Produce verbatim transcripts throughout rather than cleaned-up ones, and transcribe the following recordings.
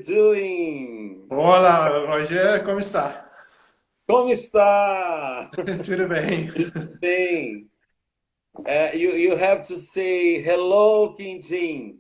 doing? Olá, Roger, como está? Como está? Tudo bem. Bem. Uh, you, you have to say hello, Quintin.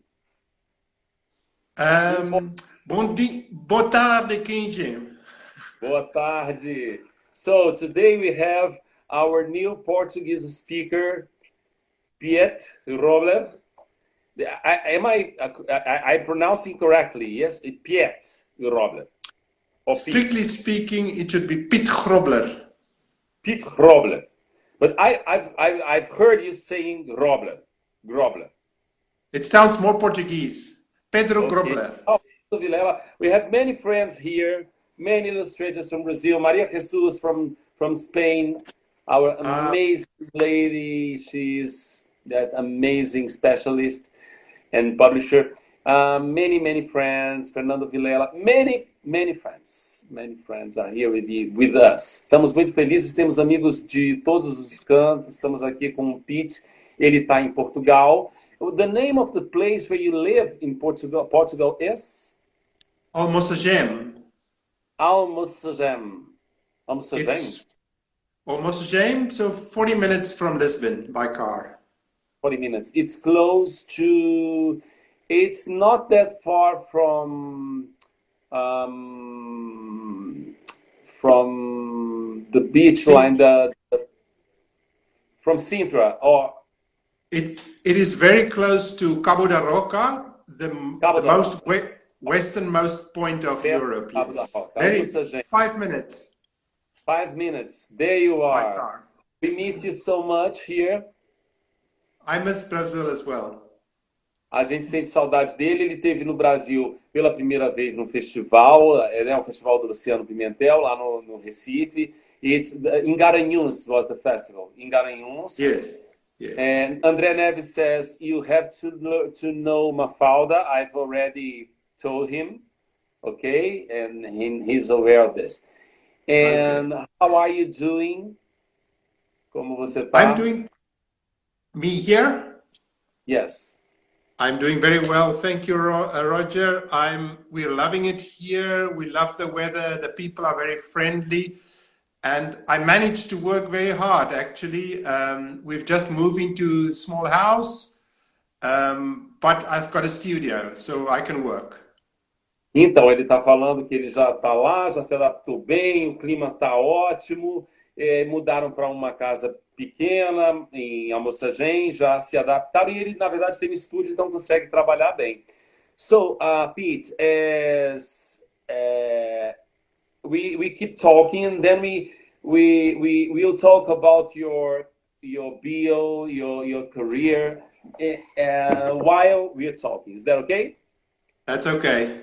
In Ahm, bom dia, boa tarde, Kenji. Boa tarde. So today we have our new Portuguese speaker, Piet Robler. I, am I, I, I pronouncing correctly? Yes, Piet Robler. Or Piet. Strictly speaking, it should be Piet Grobler. Piet Grobler. But I, I've, I've, I've heard you saying Grobler. Grobler. It sounds more Portuguese. Pedro Okay. Grobler. Oh, Vilela. We have many friends here, many illustrators from Brazil. Maria Jesus from, from Spain, our Ah, amazing lady. She's that amazing specialist and publisher. Uh, many, many friends. Fernando Vilela. Many, many friends. Many friends are here with, you, with us. Estamos muito felizes, temos amigos de todos os cantos. Estamos aqui com o Pete. Ele está em Portugal. The name of the place where you live in Portugal, Portugal is Almocegem. Almocegem. Almocegem? It's Almocegem, so forty minutes from Lisbon by car. forty minutes. It's close to, it's not that far from, um, from the beach line, the, the, from Sintra, or It, it is very close to Cabo da Roca, the, Cabo the da most we, westernmost point of Perto Europe. de Cabo da Yes. Roca. Very, Almocegem. five minutes Five minutes. There you by are. car. We miss you so much here. I miss Brazil as well. A gente sente saudade dele. Ele esteve no Brasil pela primeira vez num festival, é, né, o Festival do Luciano Pimentel, lá no, no Recife. It's, em Garanhuns was the festival. Em Garanhuns. Yes, yes. And André Neves says, you have to, lo- to know Mafalda. I've already told him. Okay? And he, he's aware of this. And how are you doing? Como você tá? I'm doing, me here, Yes. I'm doing very well. Thank you, Ro- uh, Roger. I'm, we're loving it here. We love the weather. The people are very friendly. And I managed to work very hard, actually. Um, we've just moved into a small house, um, but I've got a studio, so I can work. Então, ele está falando que ele já está lá, já se adaptou bem, o clima está ótimo, eh, mudaram para uma casa pequena em Almocegem, já se adaptaram e ele, na verdade, tem um estúdio, então consegue trabalhar bem. So, uh, Pete, as, uh, we, we keep talking, and then we, we, we, we'll talk about your, your bio, your, your career, uh, while we're talking. Is that okay? That's okay.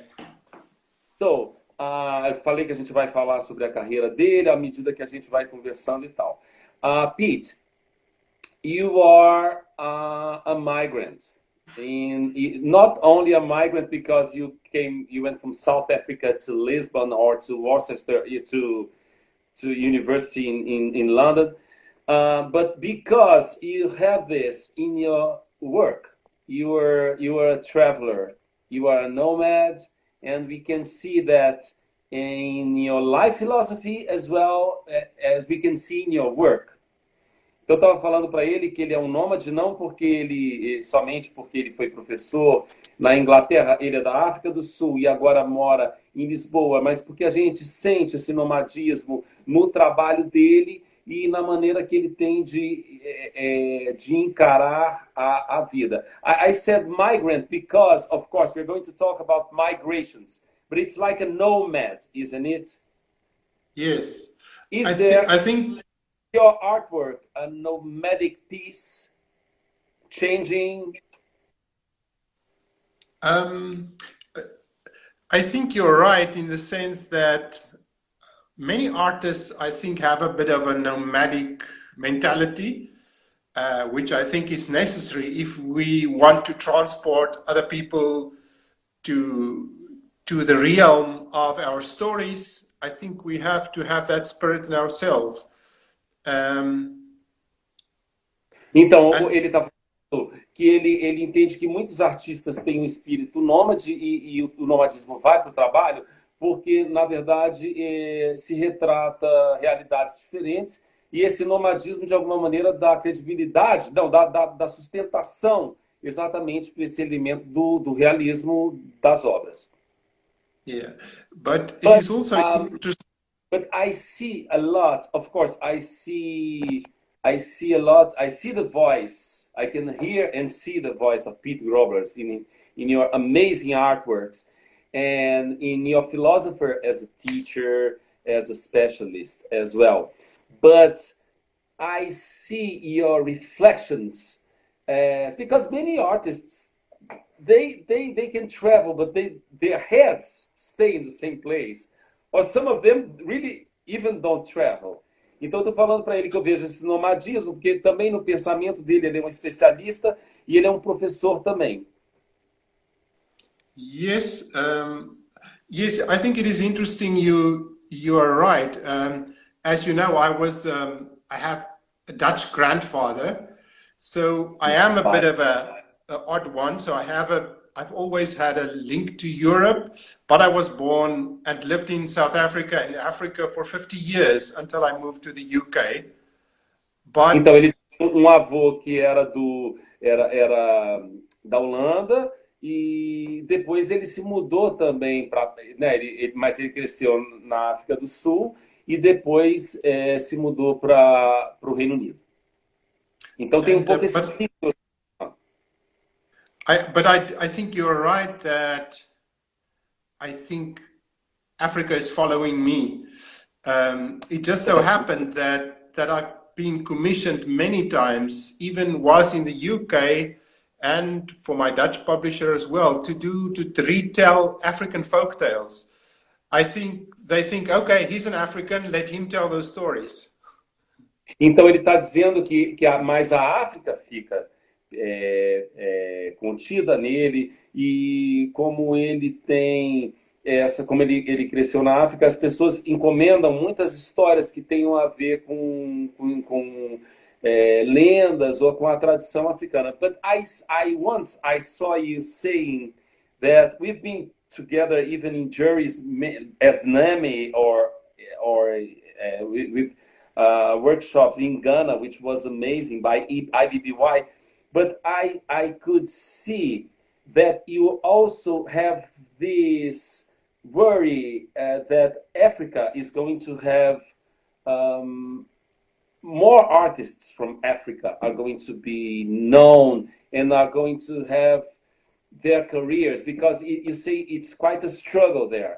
So, uh, eu falei que a gente vai falar sobre a carreira dele à medida que a gente vai conversando e tal. Uh, Pete, you are uh, a migrant. In, not only a migrant because you came, you went from South Africa to Lisbon or to Worcester to to university in in, in London, uh, but because you have this in your work. You are you are a traveler. You are a nomad. And we can see that in your life philosophy as well as we can see in your work. Eu estava falando para ele que ele é um nômade não porque ele somente porque ele foi professor na Inglaterra, ele é da África do Sul e agora mora em Lisboa, mas porque a gente sente esse nomadismo no trabalho dele e na maneira que ele tem de, é, de encarar a, a vida. I, I said migrant because, of course, we're going to talk about migrations, but it's like a nomad, isn't it? Yes. Is I, there thi- I think your artwork a nomadic piece, changing? um, I think you're right in the sense that many artists, I think, have a bit of a nomadic mentality, uh, which I think is necessary if we want to transport other people to to the realm of our stories. I think we have to have that spirit in ourselves. Um, Então, and ele está falando que ele, ele entende que muitos artistas têm um espírito nômade e, e o, o nomadismo vai para o trabalho porque, na verdade, é, se retrata realidades diferentes e esse nomadismo, de alguma maneira, dá credibilidade, não, dá, dá, dá sustentação exatamente para esse elemento do, do realismo das obras. Yeah, but it But, is also um, interesting. but I see a lot, of course, I see, I see a lot, I see the voice, I can hear and see the voice of Pete Grobler in, in your amazing artworks and in your philosopher as a teacher, as a specialist as well. But I see your reflections as, because many artists, they, they, they can travel, but they, their heads stay in the same place. Or some of them really even don't travel. Então, eu estou falando para ele que eu vejo esse nomadismo, porque também no pensamento dele ele é um especialista e ele é um professor também. Yes, um, yes, I think it is interesting. You you are right. Um, as you know, I was um, I have a Dutch grandfather, so I am a bit of a, a odd one. So I have a I've always had a link to Europe, but I was born and lived in South Africa and Africa for fifty years until I moved to the U K. But então ele tem um avô que era do era era da Holanda e depois ele se mudou também para, né, ele, ele, mas ele cresceu na África do Sul e depois é, se mudou para o Reino Unido. Então tem um and, pouco uh, esse but, I, but I, I think you're right that I think Africa is following me. Um, it just so happened that, that I've been commissioned many times, even was in the U K and for my Dutch publisher as well, to do, to, to retell African folk tales. I think they think, okay, he's an African, let him tell those stories. Então ele está dizendo que, que a, mais a África fica É, é, contida nele e como ele tem essa, como ele, ele cresceu na África, as pessoas encomendam muitas histórias que tenham a ver com, com, com é, lendas ou com a tradição africana. But I, I once I saw you saying that we've been together even in juries as NAMI or or uh, with uh, workshops in Ghana, which was amazing by I B B Y. But I, I could see that you also have this worry uh, that Africa is going to have um, more artists from Africa are going to be known and are going to have their careers, because you, you say it's quite a struggle there.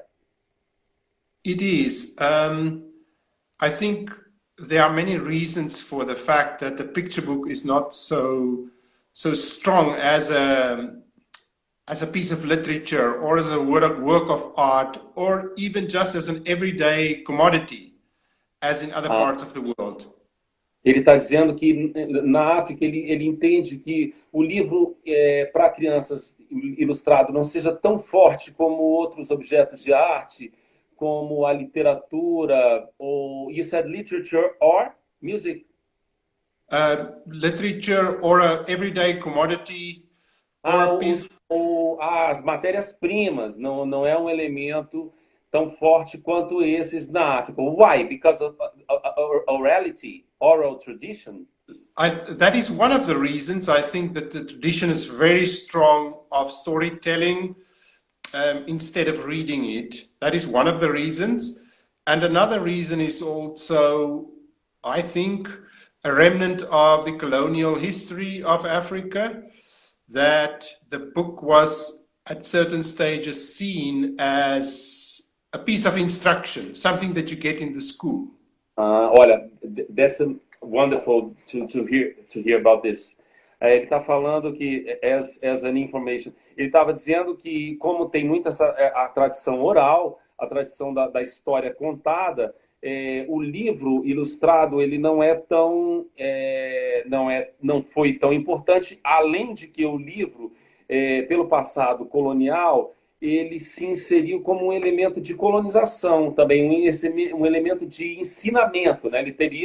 It is. Um, I think there are many reasons for the fact that the picture book is not so so strong as a as a piece of literature or as a work, work of art or even just as an everyday commodity as in other Ah. parts of the world. Ele está dizendo que na África ele, ele entende que o livro é, para crianças ilustrado não seja tão forte como outros objetos de arte, como a literatura, ou you said literature or music? Uh, literature or a everyday commodity or Ah, a o, piece. o, as matérias-primas não, não é um elemento tão forte quanto esses na África. Why? Because of uh, orality, oral tradition? I, that is one of the reasons. I think that the tradition is very strong of storytelling um, instead of reading it. That is one of the reasons. And another reason is also, I think, a remnant of the colonial history of Africa, that the book was at certain stages seen as a piece of instruction, something that you get in the school. Uh, olha, that's a wonderful to, to hear to hear about this. É, ele está falando que as, as an information, ele estava dizendo que como tem muita essa, a tradição oral, a tradição da, da história contada, é, o livro ilustrado ele não é tão é, não é não foi tão importante, além de que o livro é, pelo passado colonial ele se inseriu como um elemento de colonização também, um, um elemento de ensinamento, né? Ele teria um,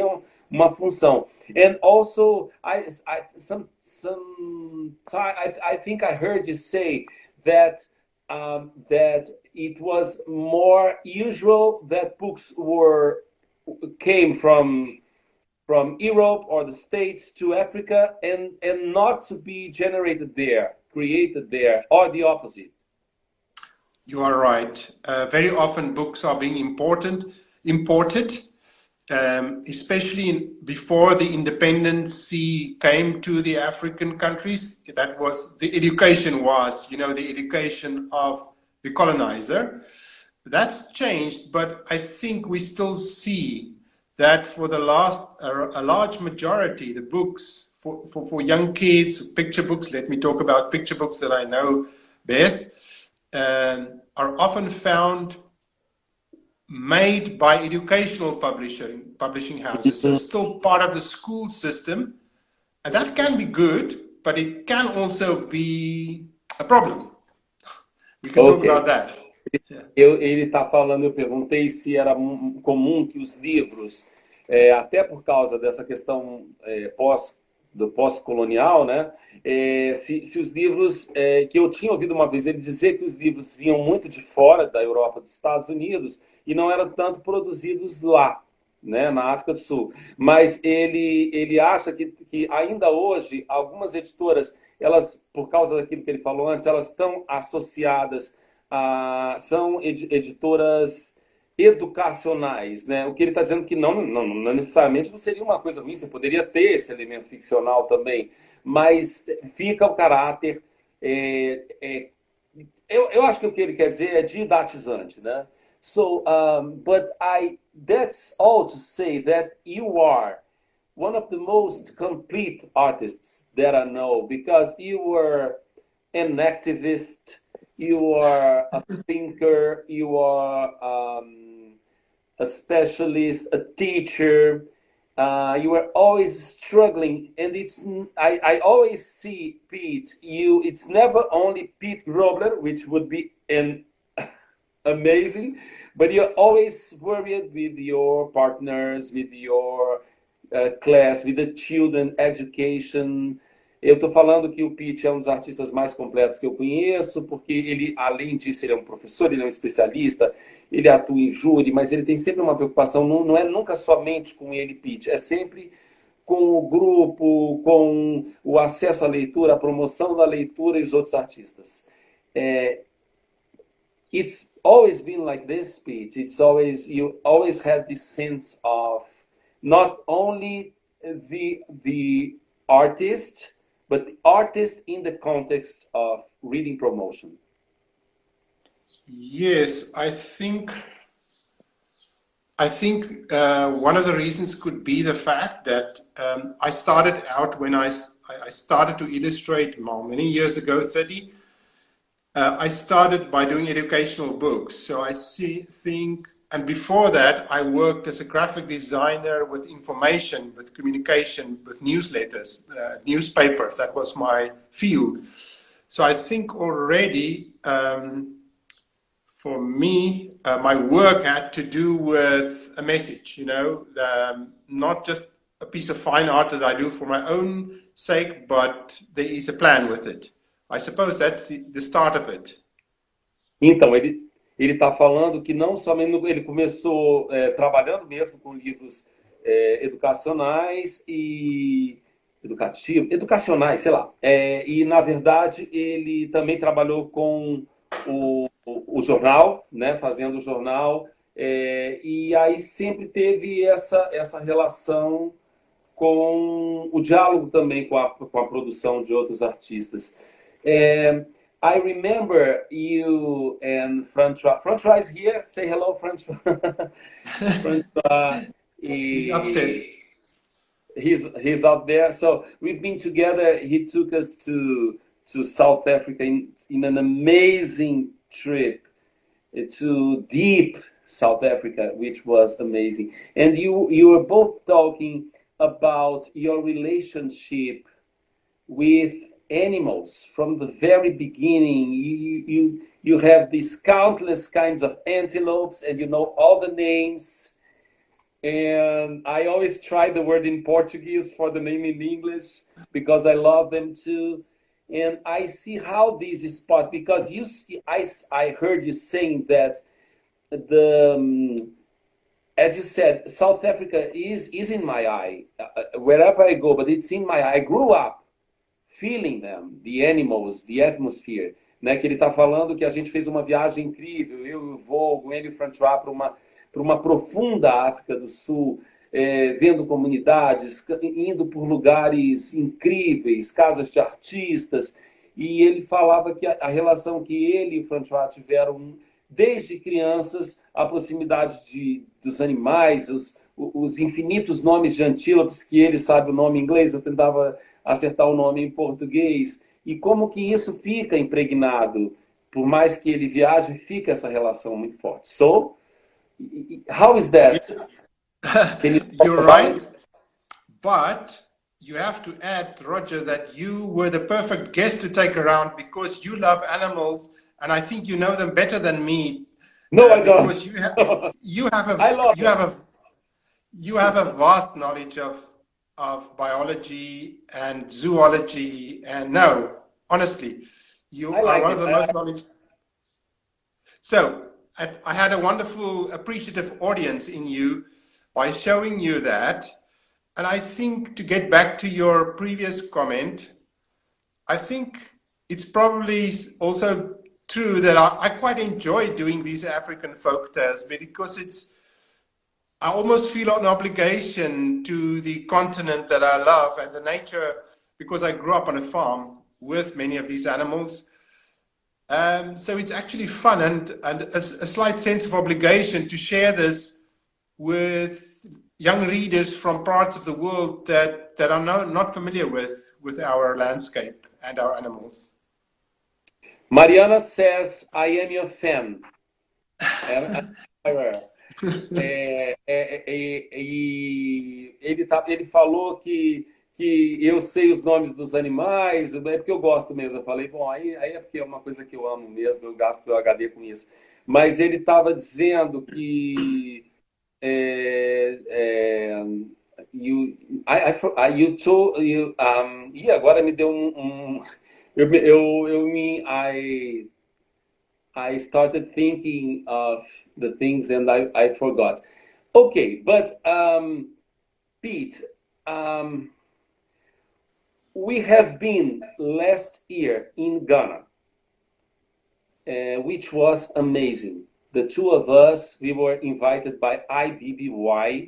uma função. And also, I, I some some time I, I think I heard you say that um, that it was more usual that books were came from from Europe or the States to Africa and and not to be generated there, created there, or the opposite. You are right. Uh, very often books are being important, imported, um, especially in, before the independency came to the African countries. That was, the education was, you know, the education of the colonizer. That's changed, but I think we still see that for the last, uh, a large majority, the books for, for, for young kids, picture books, let me talk about picture books that I know best, Um, are often found made by educational publishing publishing houses. So still part of the school system, and that can be good, but it can also be a problem. We can okay. talk about that. Eu, ele está falando, eu perguntei se era comum que os livros, é, até por causa dessa questão é, pós do pós-colonial, né? É, se, se os livros, é, que eu tinha ouvido uma vez ele dizer que os livros vinham muito de fora da Europa, dos Estados Unidos, e não eram tanto produzidos lá, né, na África do Sul. Mas ele, ele acha que, que ainda hoje, algumas editoras, elas, por causa daquilo que ele falou antes, elas estão associadas a... são editoras educacionais, né? O que ele está dizendo que não, não, não necessariamente não seria uma coisa ruim, você poderia ter esse elemento ficcional também, mas fica o caráter, é, é, eu, eu acho que o que ele quer dizer é didatizante, né? So, um, but I, that's all to say that you are one of the most complete artists that I know, because you were an activist, you are a thinker, you are um, a specialist, a teacher. Uh, you are always struggling, and it's I, I always see Pete. You, it's never only Pete Grobler, which would be an amazing, but you're always worried with your partners, with your uh, class, with the children, education. Eu estou falando que o Pete é um dos artistas mais completos que eu conheço, porque ele, além disso, ele é um professor, ele é um especialista, ele atua em júri, mas ele tem sempre uma preocupação, não, não é nunca somente com ele, Pete, é sempre com o grupo, com o acesso à leitura, a promoção da leitura e os outros artistas. É, it's always been like this, Pete. It's always, you always had this sense of not only the, the artist, but the artist in the context of reading promotion. Yes, I think I think uh, one of the reasons could be the fact that um, I started out when I, I started to illustrate many years ago, thirty. Uh, I started by doing educational books. So I see, think, and before that, I worked as a graphic designer with information, with communication, with newsletters, uh, newspapers. That was my field. So I think already, um, for me, uh, my work had to do with a message, you know, um, not just a piece of fine art that I do for my own sake, but there is a plan with it. I suppose that's the, the start of it. Então, ele ele está falando que não somente ele começou é, trabalhando mesmo com livros é, educacionais e educativos, educacionais, sei lá. É, e na verdade ele também trabalhou com o, o, o jornal, né, fazendo o jornal, é, e aí sempre teve essa essa relação com o diálogo também com a, com a produção de outros artistas. É, I remember you and Francois. Francois is here. Say hello, Francois. Francois. He's upstairs. He's he's out there. So we've been together. He took us to to South Africa in, in an amazing trip to deep South Africa, which was amazing. And you you were both talking about your relationship with animals from the very beginning. You, you, you have these countless kinds of antelopes and you know all the names. And I always try the word in Portuguese for the name in English because I love them too. And I see how this is spot because you see, I, I heard you saying that the um, as you said, South Africa is is in my eye uh, wherever I go, but it's in my eye. I grew up feeling them, the animals, the atmosphere, né? Que ele está falando que a gente fez uma viagem incrível, eu, o Vogo, ele e o François, para uma para uma profunda África do Sul, é, vendo comunidades, indo por lugares incríveis, casas de artistas, e ele falava que a, a relação que ele e o François tiveram desde crianças, a proximidade de, dos animais, os, os infinitos nomes de antílopes, que ele sabe o nome em inglês, eu tentava acertar o nome em português, e como que isso fica impregnado, por mais que ele viaje, fica essa relação muito forte. So, how is that? You You're right, but you have to add, Roger, that you were the perfect guest to take around because you love animals, and I think you know them better than me. No, uh, I don't. Because you have you have a I love you have a you have a vast knowledge of of biology and zoology, and no, honestly, you I are like one it. of the I most like knowledge. So I, I had a wonderful, appreciative audience in you by showing you that. And I think to get back to your previous comment, I think it's probably also true that I, I quite enjoy doing these African folk tales because it's, I almost feel an obligation to the continent that I love and the nature, because I grew up on a farm with many of these animals. Um, so it's actually fun and, and a, a slight sense of obligation to share this with young readers from parts of the world that, that are no, not familiar with, with our landscape and our animals. Mariana says, I am your fan. é, é, é, e ele, tá, ele falou que, que eu sei os nomes dos animais, é porque eu gosto mesmo. Eu falei, bom, aí, aí é porque é uma coisa que eu amo mesmo, eu gasto meu H D com isso. Mas ele estava dizendo que É, é, you, I, I, you told, you, um, e agora me deu um, um eu, eu, eu me, I, I started thinking of the things and I, I forgot. Okay, but um, Pete, um, we have been last year in Ghana, uh, which was amazing. The two of us, we were invited by I B B Y,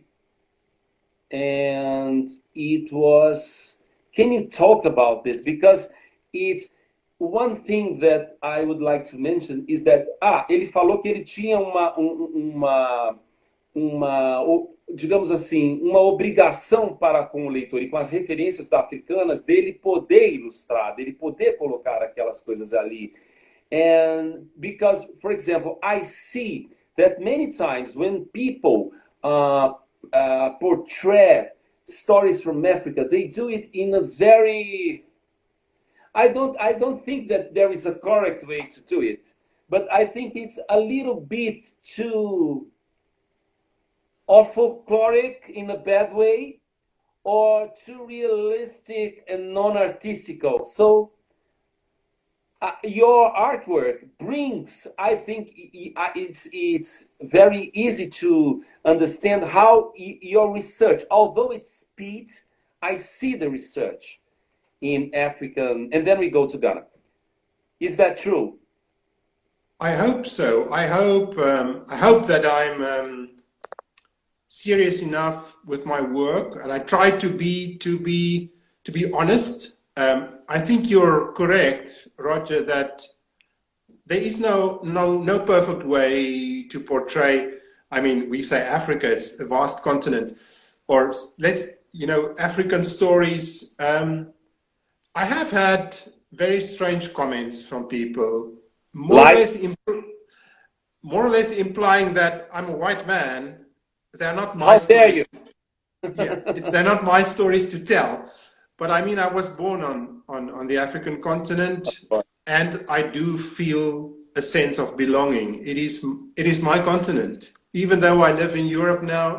and it was, can you talk about this? Because it's, one thing that I would like to mention is that, ah, ele falou que ele tinha uma, uma, uma, digamos assim, uma obrigação para com o leitor e com as referências africanas dele poder ilustrar, dele poder colocar aquelas coisas ali. And because, for example, I see that many times when people uh, uh, portray stories from Africa, they do it in a very, I don't, I don't think that there is a correct way to do it, but I think it's a little bit too or folkloric in a bad way, or too realistic and non-artistical. So Uh, your artwork brings, I think it's, it's very easy to understand how your research, although it's speed, I see the research in African, and then we go to Ghana. Is that true? I hope so. I hope, um, I hope that I'm um, serious enough with my work, and I try to be, to be, to be honest. Um, I think you're correct, Roger, that there is no, no, no perfect way to portray. I mean, we say Africa, it's a vast continent, or let's, you know, African stories. Um, I have had very strange comments from people, more, like? or less more or less implying that I'm a white man. They're not my How stories. dare you? Yeah, it's, they're not my stories to tell. But I mean, I was born on, on, on the African continent, and I do feel a sense of belonging. It is, it is my continent. Even though I live in Europe now,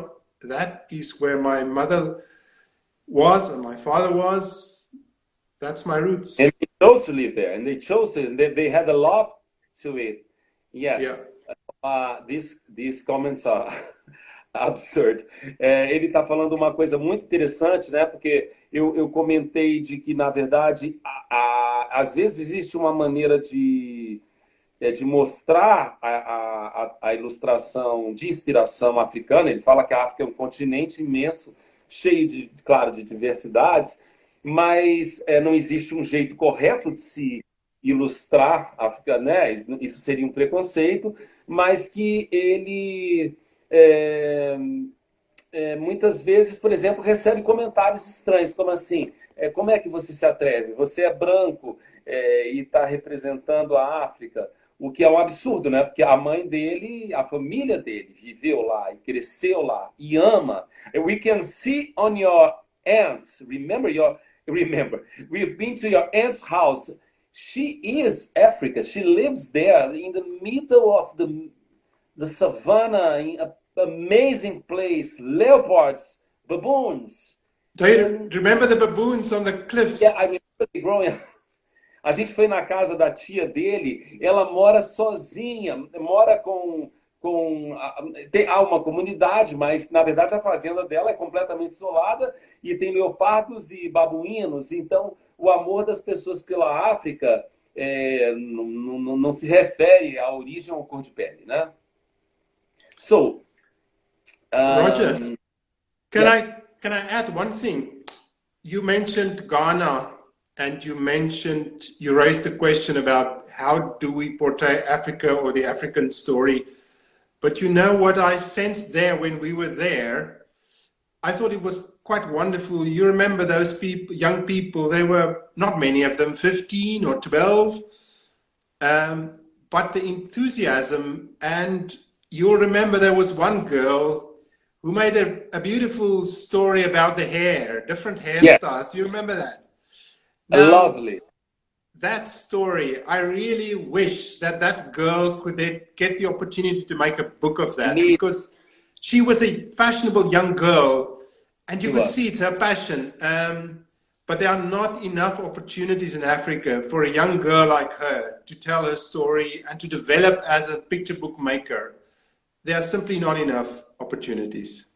that is where my mother was and my father was. That's my roots. And they chose to live there, and they chose it, and they, they had a love to it. Yes. Yeah. Uh, these, these comments are absurd. É, ele está falando uma coisa muito interessante, né? Porque eu, eu comentei de que, na verdade, a, a, às vezes existe uma maneira de, é, de mostrar a, a, a ilustração de inspiração africana. Ele fala que a África é um continente imenso, cheio de, claro, de diversidades, mas é, não existe um jeito correto de se ilustrar a África, né? Isso seria um preconceito, mas que ele é, é, muitas vezes, por exemplo, recebe comentários estranhos, como assim, é, como é que você se atreve? Você é branco é, e está representando a África, o que é um absurdo, né? Porque a mãe dele, a família dele viveu lá e cresceu lá e ama. We can see on your aunt, remember your, remember, we've been to your aunt's house. She is Africa. She lives there in the middle of the, the savannah, in an amazing place. Leopards, baboons. Do you and, remember the baboons on the cliffs? Yeah, I remember growing up. A gente foi na casa da tia dele. Ela mora sozinha, mora com... com tem, há uma comunidade, mas, na verdade, a fazenda dela é completamente isolada e tem leopardos e babuínos. Então, o amor das pessoas pela África é, não, não, não se refere à origem ou à cor de pele, né? So, um, Roger, can yes. I can I add one thing? You mentioned Ghana, and you mentioned you raised the question about how do we portray Africa or the African story. But you know what I sensed there when we were there? I thought it was quite wonderful. You remember those people, young people, they were not many of them, fifteen or twelve, um, but the enthusiasm, and you'll remember there was one girl who made a, a beautiful story about the hair, different hairstyles. Yeah. Do you remember that? Now, lovely. That story, I really wish that that girl could get the opportunity to make a book of that, Me. because she was a fashionable young girl, and you She could was. see it's her passion. Um, but there are not enough opportunities in Africa for a young girl like her to tell her story and to develop as a picture book maker. There are simply not enough opportunities.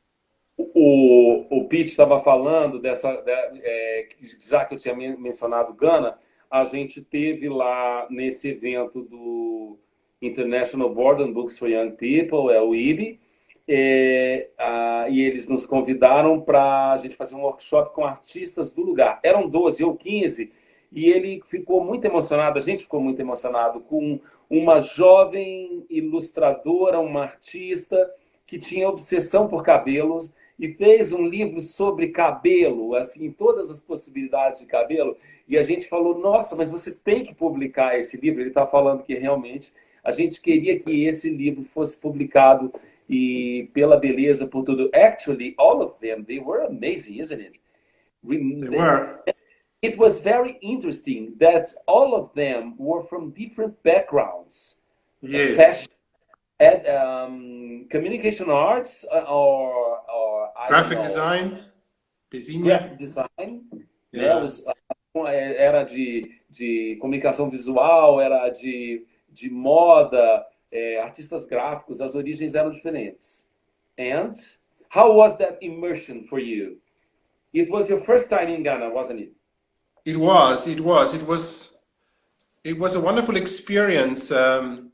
O, o Pete estava falando dessa, é, já que eu tinha mencionado Gana, a gente teve lá nesse evento do International Board on Books for Young People, é o I B I, é, a, e eles nos convidaram para a gente fazer um workshop com artistas do lugar. Eram doze ou quinze, e ele ficou muito emocionado, a gente ficou muito emocionado com uma jovem ilustradora, uma artista que tinha obsessão por cabelos e fez um livro sobre cabelo, assim, todas as possibilidades de cabelo. E a gente falou, nossa, mas você tem que publicar esse livro. Ele está falando que realmente a gente queria que esse livro fosse publicado e pela beleza, por tudo. Actually, all of them, they were amazing, isn't it? They were. It was very interesting that all of them were from different backgrounds. Yes. Fashion, and, um, communication arts, or, or I graphic don't know, design, design. graphic design. Yeah. Né, os, era de, de comunicação visual, era de, de moda, é, artistas gráficos, as origens eram diferentes. And how was that immersion for you? It was your first time in Ghana, wasn't it? It was, it was, it was, it was a wonderful experience um,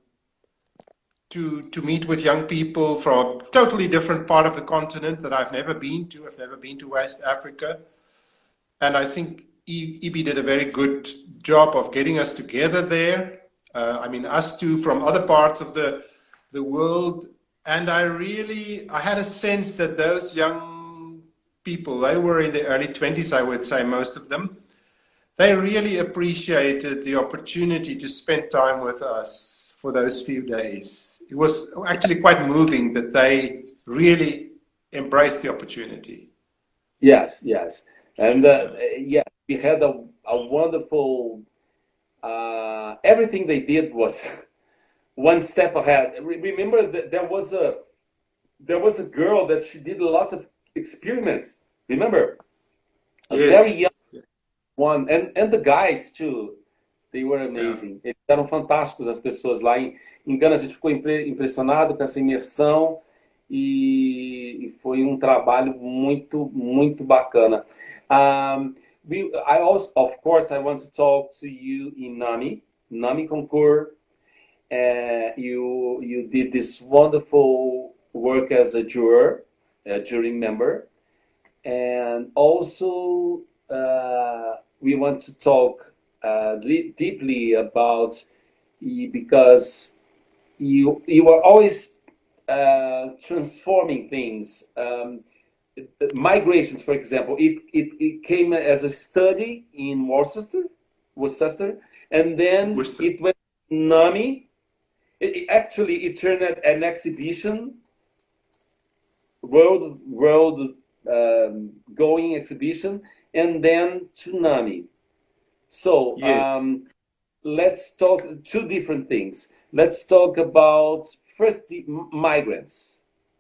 to to meet with young people from a totally different part of the continent that I've never been to. I've never been to West Africa, and I think I B I did a very good job of getting us together there. Uh, I mean, us two from other parts of the the world, and I really, I had a sense that those young people, they were in the early twenties, I would say, most of them. They really appreciated the opportunity to spend time with us for those few days. It was actually quite moving that they really embraced the opportunity. Yes, yes. And uh, yeah, we had a, a wonderful, uh, everything they did was one step ahead. Remember that there was a there was a girl that she did lots of experiments. Remember? A Yes. very young one. And, and the guys, too. They were Yeah. amazing. Eles eram fantásticos, as pessoas lá. Em, em Gana, a gente ficou impre- impressionado com essa imersão e, e foi um trabalho muito, muito bacana. Um, we, I also, of course, I want to talk to you in NAMI, NAMI Concours. Uh, you you did this wonderful work as a juror, a jury member, and also uh, we want to talk uh, deeply about because you you are always uh, transforming things. Um, migrations, for example, it, it, it came as a study in Worcester, Worcester, and then Worcester. it went to NAMI. It, it actually it turned at an exhibition, world world um, going exhibition, and then to NAMI. So Yeah. um, let's talk two different things. Let's talk about first the migrants.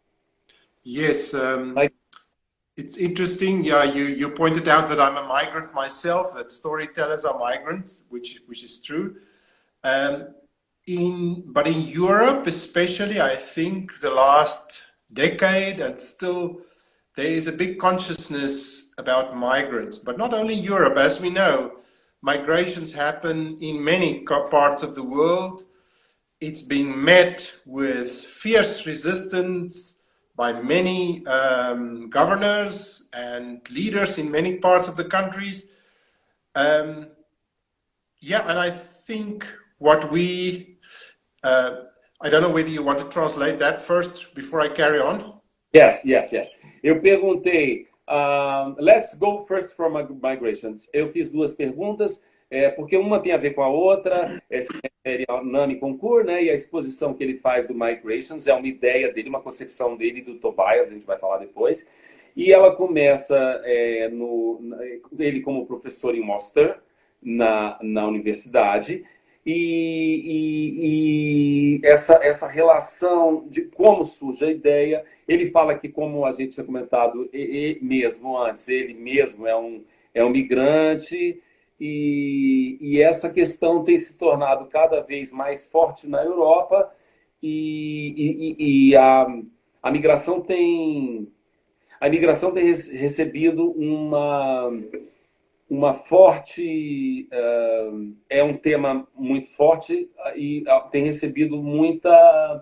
Yes. Um, Like, it's interesting. Yeah, you, you pointed out that I'm a migrant myself, that storytellers are migrants, which, which is true. Um, in, but in Europe, especially, I think the last decade and still, there is a big consciousness about migrants, but not only Europe. As we know, migrations happen in many parts of the world. It's being met with fierce resistance by many um, governors and leaders in many parts of the countries. Um, yeah, and I think what we, uh, I don't know whether you want to translate that first before I carry on. Yes, yes, yes. Eu perguntei, um, let's go first from migrations. Eu fiz duas perguntas, é, porque uma tem a ver com a outra, é, se refere ao NAMI Concours, né, e a exposição que ele faz do Migrations é uma ideia dele, uma concepção dele do Tobias, a gente vai falar depois. E ela começa, é, no, ele como professor em Worcester, na, na universidade, e, e, e essa, essa relação de como surge a ideia. Ele fala que, como a gente tinha comentado e, e mesmo antes, ele mesmo é um, é um migrante e, e essa questão tem se tornado cada vez mais forte na Europa e, e, e a, a migração tem a migração tem recebido uma uma forte uh, é um tema muito forte e tem recebido muita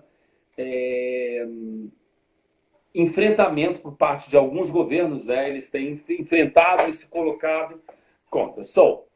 é, enfrentamento por parte de alguns governos, né? Eles têm enfrentado e se colocado contra. So,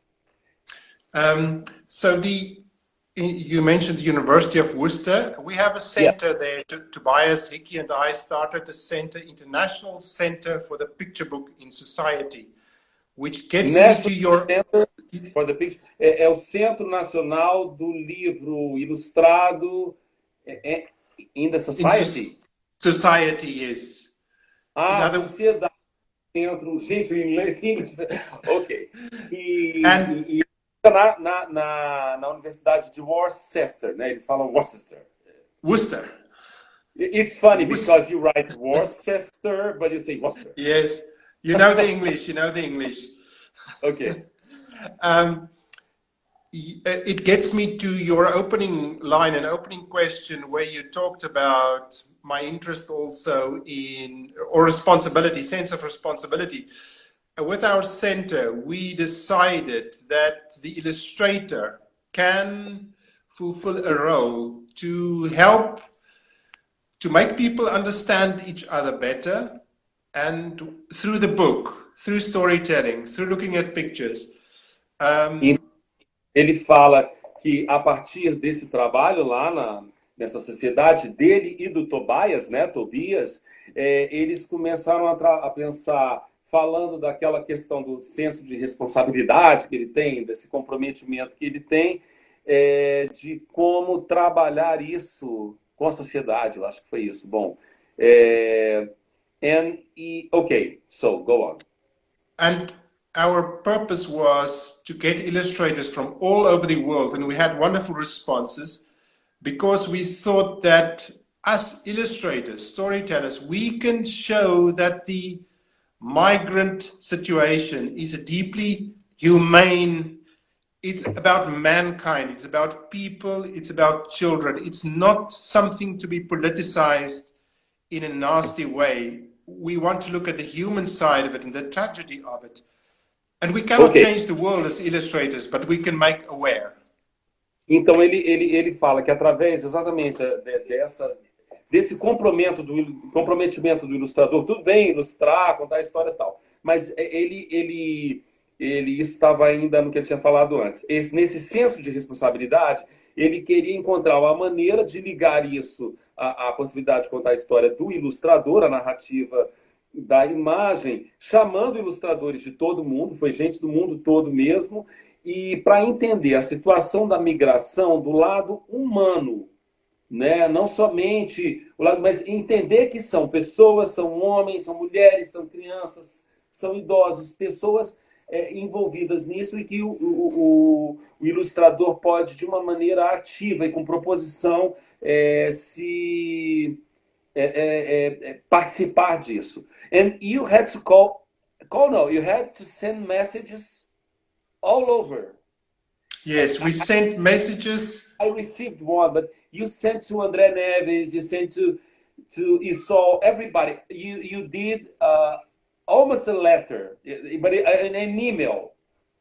um, so the you mentioned the University of Worcester. We have a center yeah. there. T Tobias Hickey and I started the center, International Center for the Picture Book in Society, which gets National me to your Center for the Picture. É, é o Centro Nacional do Livro Ilustrado é, é, in the Society. In Society, yes. Ah, other... sociedade, centro, gente, em inglês, inglês. Ok. E, And... e, e na, na, na, na Universidade de Worcester, né? Eles falam Worcester. Worcester. It's funny Worcester. Because you write Worcester, but you say Worcester. Yes, you know the English, you know the English. Okay. Um, it gets me to your opening line, an opening question where you talked about my interest also in, or responsibility, sense of responsibility. With our center, we decided that the illustrator can fulfill a role to help, to make people understand each other better, and through the book, through storytelling, through looking at pictures. Um, Ele fala que a partir desse trabalho lá na, nessa sociedade dele e do Tobias, né, Tobias, é, eles começaram a, a pensar, falando daquela questão do senso de responsabilidade que ele tem, desse comprometimento que ele tem, é, de como trabalhar isso com a sociedade. Eu acho que foi isso. Bom, é, and, e, ok, so go on. And our purpose was to get illustrators from all over the world, and we had wonderful responses because we thought that as illustrators, storytellers, we can show that the migrant situation is a deeply humane. It's about mankind. It's about people. It's about children. It's not something to be politicized in a nasty way. We want to look at the human side of it and the tragedy of it. And we cannot Ok. change the world as illustrators, but we can make aware. Então ele, ele, ele fala que através exatamente de- dessa, desse comprometimento do, il- comprometimento do ilustrador, tudo bem ilustrar, contar histórias e tal, mas ele, ele, ele isso estava ainda no que ele tinha falado antes. Esse- nesse senso de responsabilidade, ele queria encontrar uma maneira de ligar isso à, à possibilidade de contar a história do ilustrador, a narrativa da imagem, chamando ilustradores de todo mundo, foi gente do mundo todo mesmo, e para entender a situação da migração do lado humano, né? Não somente o lado, mas entender que são pessoas, são homens, são mulheres, são crianças, são idosos, pessoas é, envolvidas nisso e que o, o, o, o ilustrador pode, de uma maneira ativa e com proposição, é, se é, é, é, participar disso. And you had to call, call no, you had to send messages all over. Yes, we sent messages. I received one, but you sent to André Neves, you sent to to Isol, everybody. You you did uh, almost a letter, but an, an email.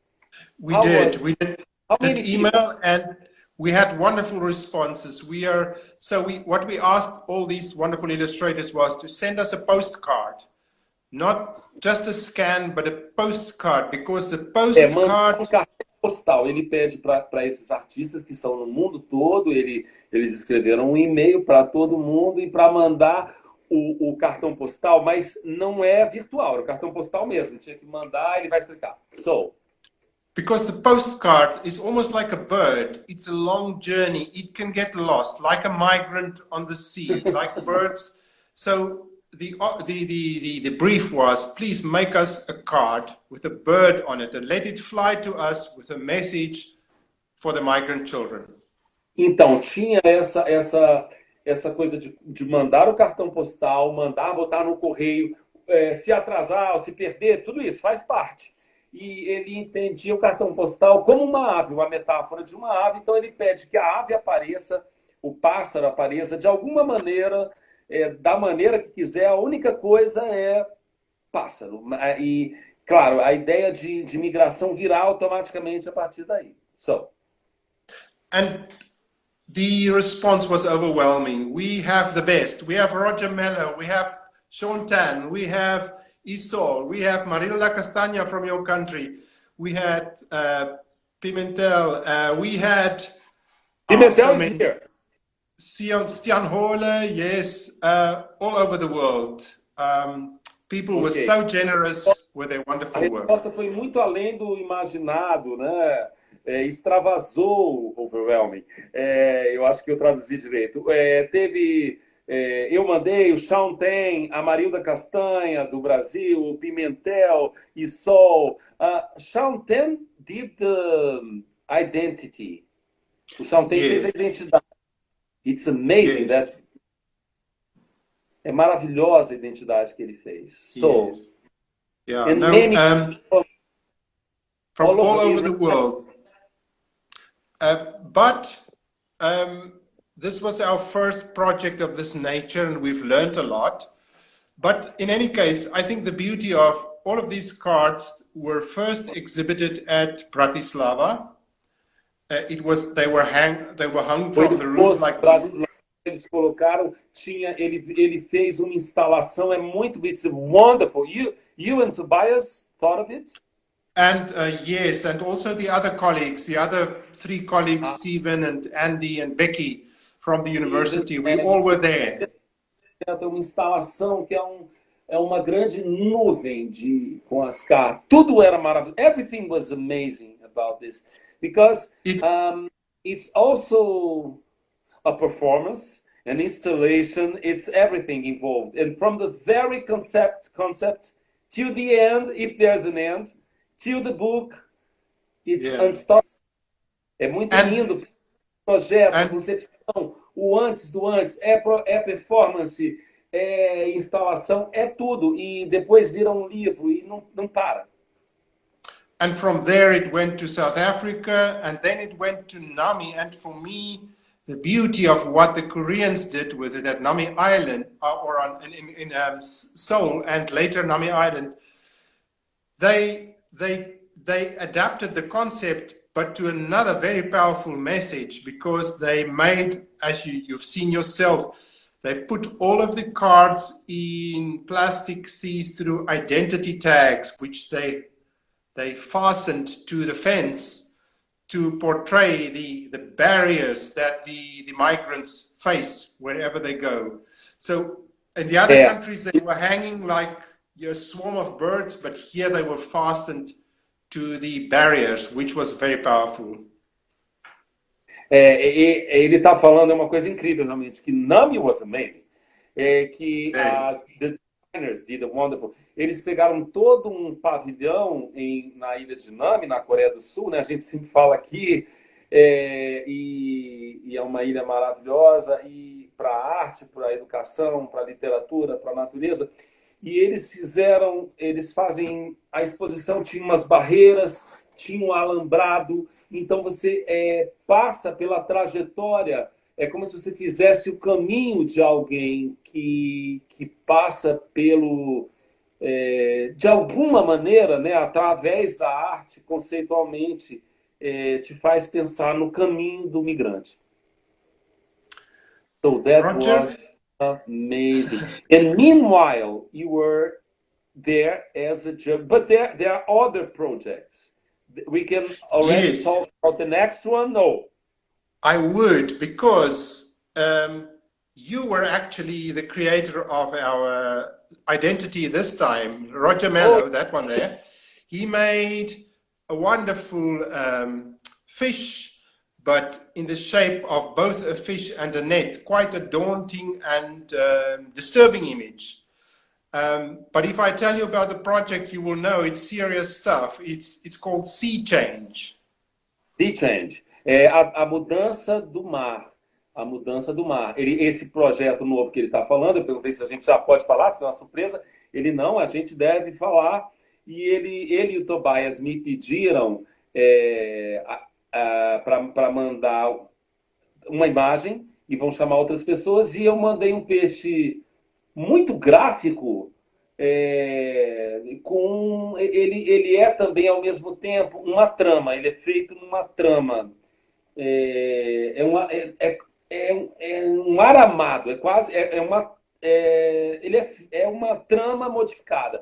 We How did. was- We did How an many email, people? and we had wonderful responses. We are so we what we asked all these wonderful illustrators was to send us a postcard, not just a scan, but a postcard, because the É, mandar postcard um cartão postal. Ele pede para esses artistas que são no mundo todo, ele, eles escreveram um e-mail para todo mundo e para mandar o, o cartão postal, mas não é virtual, é o cartão postal mesmo. Tinha que mandar, ele vai explicar. So, because the postcard is almost like a bird. It's a long journey. It can get lost, like a migrant on the sea, like birds. So the, uh, the, the, the, the brief was, please make us a card with a bird on it and let it fly to us with a message for the migrant children. então, tinha essa, essa, essa coisa de, de mandar o cartão postal, mandar botar no correio, é, se atrasar ou se perder, tudo isso faz parte. E ele entendia o cartão postal como uma ave, uma metáfora de uma ave, então ele pede que a ave apareça, o pássaro apareça de alguma maneira, é, da maneira que quiser, a única coisa é pássaro. E, claro, a ideia de, de migração virá automaticamente a partir daí. So, And the response was overwhelming. We have the best. We have Roger Mello. We have Sean Tan. We have Isol. We have Marilla Castaña from your country. We had uh, Pimentel. Uh, we had Pimentel so is many- here. Stian, Stian Hole, yes, uh, all over the world. Um, people were Okay. so generous with their A wonderful work. resposta foi muito além do imaginado, né? É, extravasou o overwhelming. É, eu acho que eu traduzi direito. É, teve, é, eu mandei o Sean Ten, a Marilda Castanha do Brasil, o Pimentel, Isol. Uh, Sean Ten did the identity. O Sean Ten Yes. fez a identidade. It's amazing Yes. that. É maravilhosa a identidade que ele fez. So, Yes. Yeah, and no, many um, from all all, over over the Europe. world. Uh, but um, this was our first project of this nature, and we've learned a lot. But in any case, I think the beauty of all of these cards were first exhibited at Bratislava. Uh, it was they were hang they were hung Foi from the roof exposto like para eles colocaram, tinha, ele, ele fez uma instalação, é muito, it's wonderful. You, you and Tobias thought of it? And uh, yes, and also the other colleagues, the other three colleagues, Stephen and Andy and Becky from the university, we all were there. Tem uma instalação que é, um, é uma grande nuvem de, com as cartas. Tudo era maravilhoso. Everything was amazing about this. Because It- um, it's also a performance, an installation, it's everything involved. And from the very concept, concept till the end, if there's an end, till the book, it's Yeah. unstoppable. É muito And- lindo. O projeto, a and- concepção, o antes do antes, é, pro, é performance, é instalação, é tudo. E depois vira um livro e não, não para. And from there it went to South Africa, and then it went to Nami. And for me, the beauty of what the Koreans did with it at Nami Island, or on, in, in um, Seoul, and later Nami Island, they, they, they adapted the concept, but to another very powerful message, because they made, as you, you've seen yourself, they put all of the cards in plastic see-through identity tags, which they they fastened to the fence to portray the, the barriers that the, the migrants face wherever they go. So in the other Yeah. countries, they were hanging like a swarm of birds, but here they were fastened to the barriers, which was very powerful. É, e- e- ele está falando é uma coisa incrível, realmente, que Nami was amazing. É que Very. as the designers did a wonderful. Eles pegaram todo um pavilhão em, na ilha de Nami, na Coreia do Sul, né? A gente sempre fala aqui, é, e, e é uma ilha maravilhosa, e para a arte, para a educação, para a literatura, para a natureza. E eles fizeram, eles fazem, a exposição tinha umas barreiras, tinha um alambrado, então você é, passa pela trajetória, é como se você fizesse o caminho de alguém que, que passa pelo, é, de alguma maneira, né, através da arte, conceitualmente, é, te faz pensar no caminho do migrante. So that Roger? was amazing. And meanwhile, you were there as a judge, but there, there are other projects. We can already Yes. talk about the next one? No. I would, because um, you were actually the creator of our identity this time, Roger Mello, Oh. that one there. He made a wonderful um, fish, but in the shape of both a fish and a net, quite a daunting and um disturbing image. Um, but if I tell you about the project, you will know it's serious stuff. It's, it's called Sea Change. Sea Change. É a, a mudança do mar. A mudança do mar. Ele, esse projeto novo que ele está falando, eu perguntei se a gente já pode falar, se tem uma surpresa. Ele não, a gente deve falar. E ele, ele e o Tobias me pediram é, para mandar uma imagem e vão chamar outras pessoas. E eu mandei um peixe muito gráfico, é, com ele, ele é também ao mesmo tempo uma trama, ele é feito numa trama, é, é, uma, é, é, é, é um aramado, é quase, é, é uma, é, ele é, é uma trama modificada.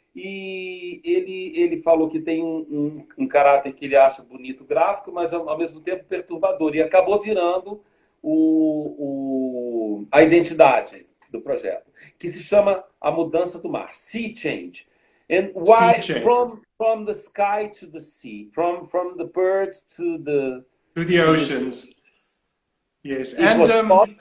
E ele, ele falou que tem um, um, um caráter que ele acha bonito gráfico, mas ao, ao mesmo tempo perturbador, e acabou virando o, o, a identidade do projeto, que se chama A Mudança do Mar, Sea Change. And why Sea change. from from the sky to the sea, from from the birds to the To the oceans. Yes, It and was um, thought-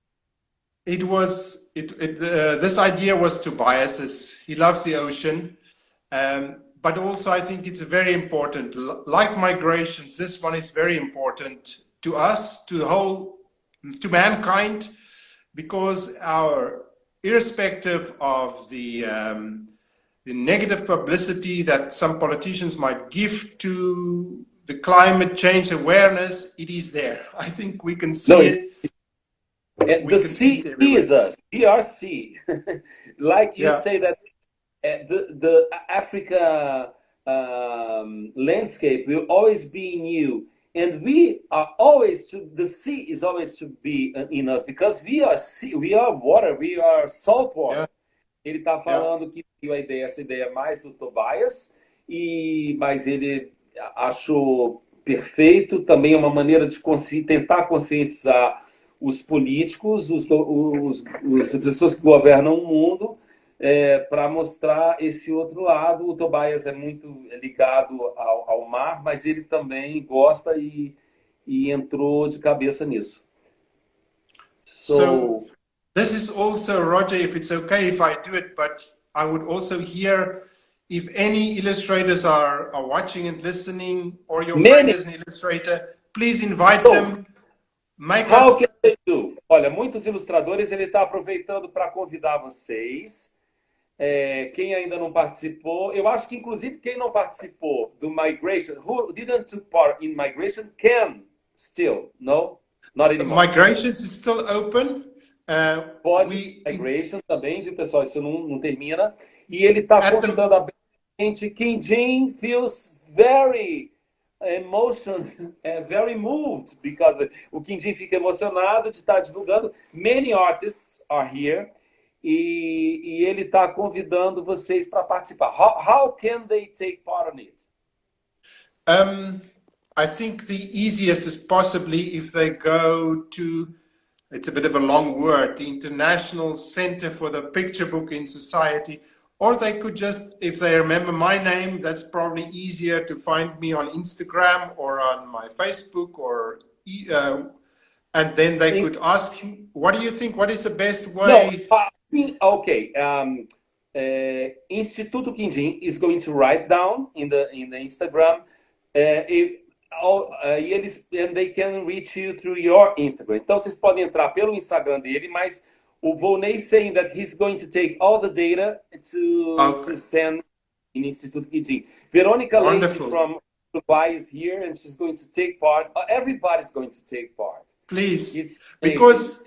it was it, it uh, this idea was Tobias's. He loves the ocean, um, but also I think it's very important. L- like migrations, this one is very important to us, to the whole, to mankind, because our, irrespective of the um, the negative publicity that some politicians might give to the climate change awareness, it is there. I think we can see No, it. it's- And We the can see sea it everywhere. is us. We are sea. Like you Yeah. say that uh, the the Africa um, landscape will always be new, and we are always to the sea is always to be uh, in us because we are sea, we are water, we are salt water. Yeah. Ele está falando que a ideia, essa ideia mais do Tobias, e mas ele achou perfeito. Também é uma maneira de consci, tentar conscientizar os políticos, os, os, os, as pessoas que governam o mundo, é, para mostrar esse outro lado. O Tobias é muito ligado ao, ao mar, mas ele também gosta e, e entrou de cabeça nisso. So, So this is also, Roger, if it's okay if I do it, but I would also hear if any illustrators are, are watching and listening, or your friend Many. is an illustrator, please invite So, them. Make how us can they do? Olha, muitos ilustradores, ele está aproveitando para convidar vocês. É, quem ainda não participou, eu acho que inclusive quem não participou do Migration, who didn't take part in Migration, can still, no? Not anymore. Migrations is still open. Uh, Pode, we, Migration também, viu, pessoal? Isso não, não termina. E ele está convidando the... a gente. Kim Jin feels very emotion, uh, very moved, because o Kim Jin fica emocionado de estar divulgando. Many artists are here. E, e ele está convidando vocês para participar. How, how can they take part on it? Um, I think the easiest is possibly if they go to, it's a bit of a long word, the International Center for the Picture Book in Society, or they could just, if they remember my name, that's probably easier to find me on Instagram or on my Facebook, or uh, and then they could ask, what do you think, what is the best way? No, uh, okay, um, uh, Instituto Kim Jin is going to write down in the in the Instagram, uh, if, all, uh, e eles and they can reach you through your Instagram. Então vocês podem entrar pelo Instagram dele, mas o Volney saying that he's going to take all the data to okay. to send in Instituto Kim Jin. Veronica Leite from Dubai is here, and she's going to take part. Uh, everybody's going to take part. Please, it's because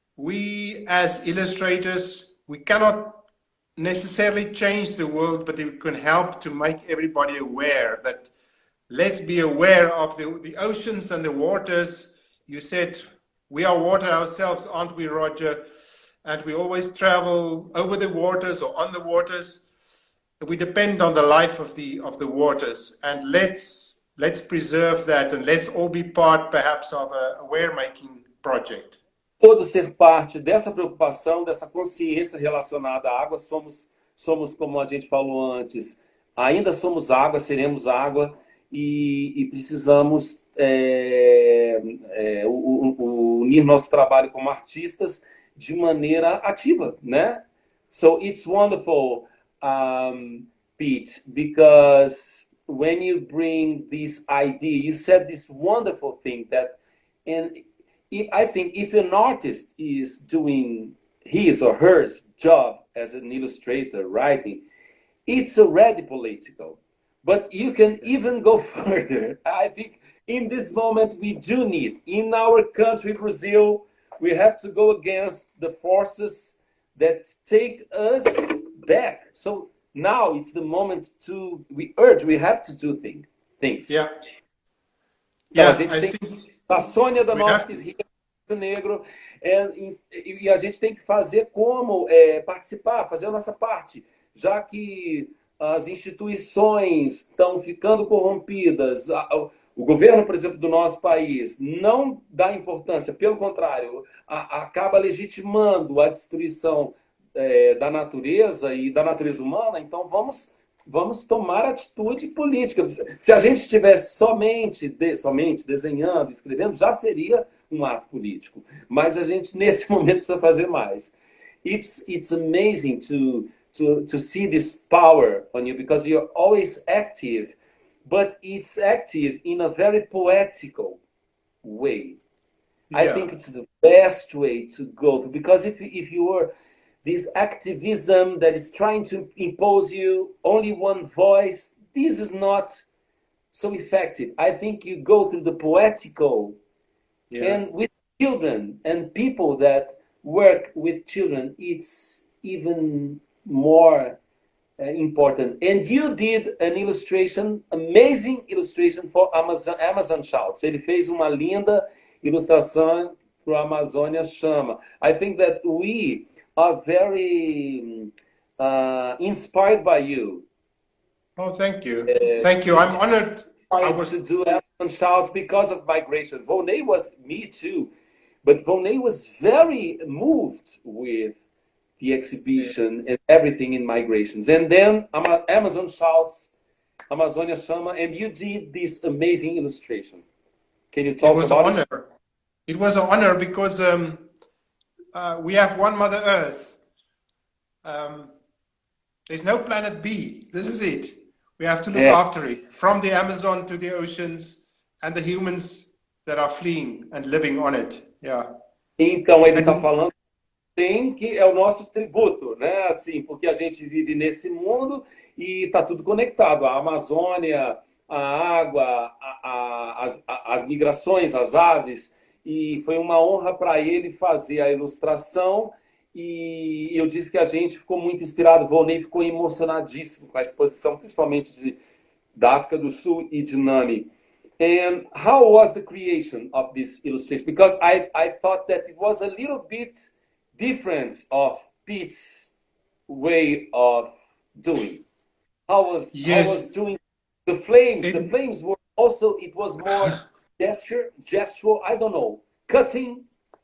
we as illustrators, we cannot necessarily change the world, but we can help to make everybody aware that let's be aware of the, the oceans and the waters. You said we are water ourselves, aren't we, Roger? And we always travel over the waters or on the waters. We depend on the life of the of the waters, and let's let's preserve that, and let's all be part perhaps of a aware-making project. Todos ser parte dessa preocupação, dessa consciência relacionada à água. Somos, somos, como a gente falou antes, ainda somos água, seremos água, e, e precisamos é, é, o, o, unir nosso trabalho como artistas de maneira ativa, né? So it's wonderful, um, Pete, because when you bring this idea, you said this wonderful thing that, and If, I think if an artist is doing his or her job as an illustrator, writing, it's already political. But you can even go further. I think in this moment we do need, in our country, Brazil, we have to go against the forces that take us back. So now it's the moment to, we urge, we have to do thing, things. Yeah. Então, yeah, a gente I tem think... A Sônia Danovskis, Rio Negro, é, e, e a gente tem que fazer como é, participar, fazer a nossa parte, já que as instituições estão ficando corrompidas, a, a, o governo, por exemplo, do nosso país não dá importância, pelo contrário, a, acaba legitimando a destruição é, da natureza e da natureza humana. Então vamos Vamos tomar atitude política. Se a gente estivesse somente, de, somente desenhando, escrevendo, já seria um ato político. Mas a gente, nesse momento, precisa fazer mais. It's, it's amazing to, to, to see this power on you, because you're always active, but it's active in a very poetical way. Yeah. I think it's the best way to go through, because if, if you were... this activism that is trying to impose you only one voice, this is not so effective. I think you go through the poetical, yeah. And with children and people that work with children, it's even more uh, important. And you did an illustration, amazing illustration for Amazon, Amazon Shouts. Ele fez uma linda ilustração para o Amazônia Chama. I think that we are very uh, inspired by you. Oh, thank you. Uh, thank you. I'm honored. I was to do Amazon Shouts because of migration. Volney was, me too, but Volney was very moved with the exhibition, yes, and everything in migrations. And then Amazon Shouts, Amazônia Chama, and you did this amazing illustration. Can you talk about it? It was an honor. It was an honor because um, Uh, we have one Mother Earth. Um, there's no planet B. This is it. We have to look yeah. after it, from the Amazon to the oceans and the humans that are fleeing and living on it. Yeah. Então, ele está And falando tem que é o nosso tributo, né? Assim, porque a gente vive nesse mundo e está tudo conectado. A Amazônia, a água, a, a, as, a, as migrações, as aves. E foi uma honra para ele fazer a ilustração. E eu disse que a gente ficou muito inspirado. O Volney ficou emocionadíssimo com a exposição, principalmente de, da África do Sul e de Nami. And how was the creation of this illustration? Because I, I thought that it was a little bit different of Pete's way of doing. How was how yes, was doing the flames? it, The flames were also it was more gesture, gestural. I don't know, cutting.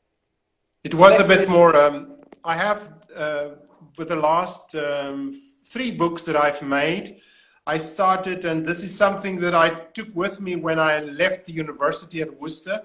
it Como was é a que foi? bit more. Um, I have, uh, with the last um, three books that I've made, I started, and this is something that I took with me when I left the university at Worcester.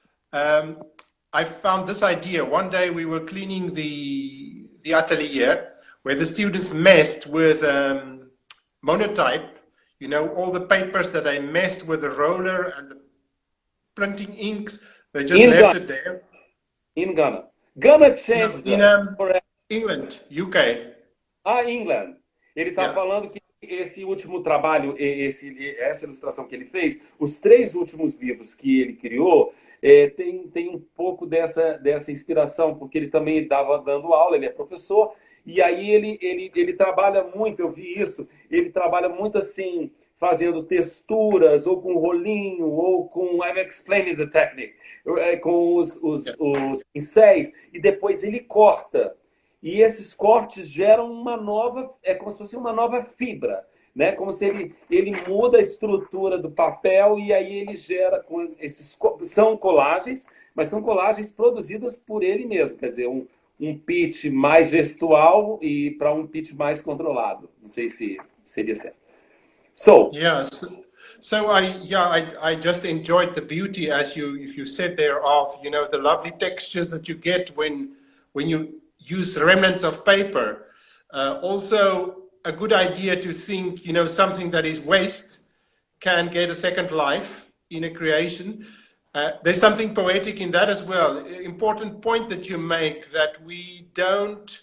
Um, I found this idea. One day we were cleaning the, the atelier where the students messed with um, monotype, you know, all the papers that they messed with the roller and the printing inks, they just In left Ghana, it there. in Ghana, Ghana No, changed in us. um, Correct. England, U K. Ah, England. Ele está Yeah. falando que esse último trabalho, esse, essa ilustração que ele fez, os três últimos livros que ele criou, é, tem, tem um pouco dessa, dessa inspiração, porque ele também estava dando aula, ele é professor, e aí ele, ele, ele trabalha muito, eu vi isso, ele trabalha muito assim, fazendo texturas, ou com rolinho, ou com I'm explaining the technique, com os, os, Yeah. os pincéis, e depois ele corta. E esses cortes geram uma nova, é como se fosse uma nova fibra, né? Como se ele, ele muda a estrutura do papel e aí ele gera com esses são colagens, mas são colagens produzidas por ele mesmo, quer dizer, um, um pitch mais gestual e para um pitch mais controlado. Não sei se seria certo. So, Yeah, so, so I yeah I, I just enjoyed the beauty, as you if you said there, of you know the lovely textures that you get when when you use remnants of paper. Uh, also, a good idea to think you know something that is waste can get a second life in a creation. Uh, there's something poetic in that as well. Important point that you make, that we don't.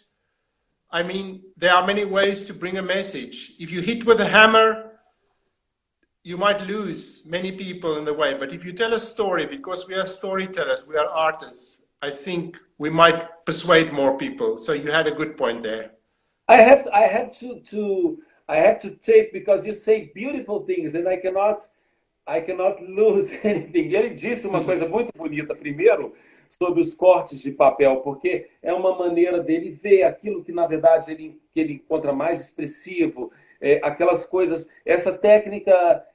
I mean, there are many ways to bring a message. If you hit with a hammer, you might lose many people in the way. But if you tell a story, because we are storytellers, we are artists, I think we might persuade more people. So you had a good point there. I have I have to to I have to take, because you say beautiful things and I cannot I cannot lose anything. Ele disse uma coisa muito bonita primeiro sobre os cortes de papel, porque é uma maneira dele ver aquilo que na verdade ele que ele encontra mais expressivo, é, aquelas coisas, essa técnica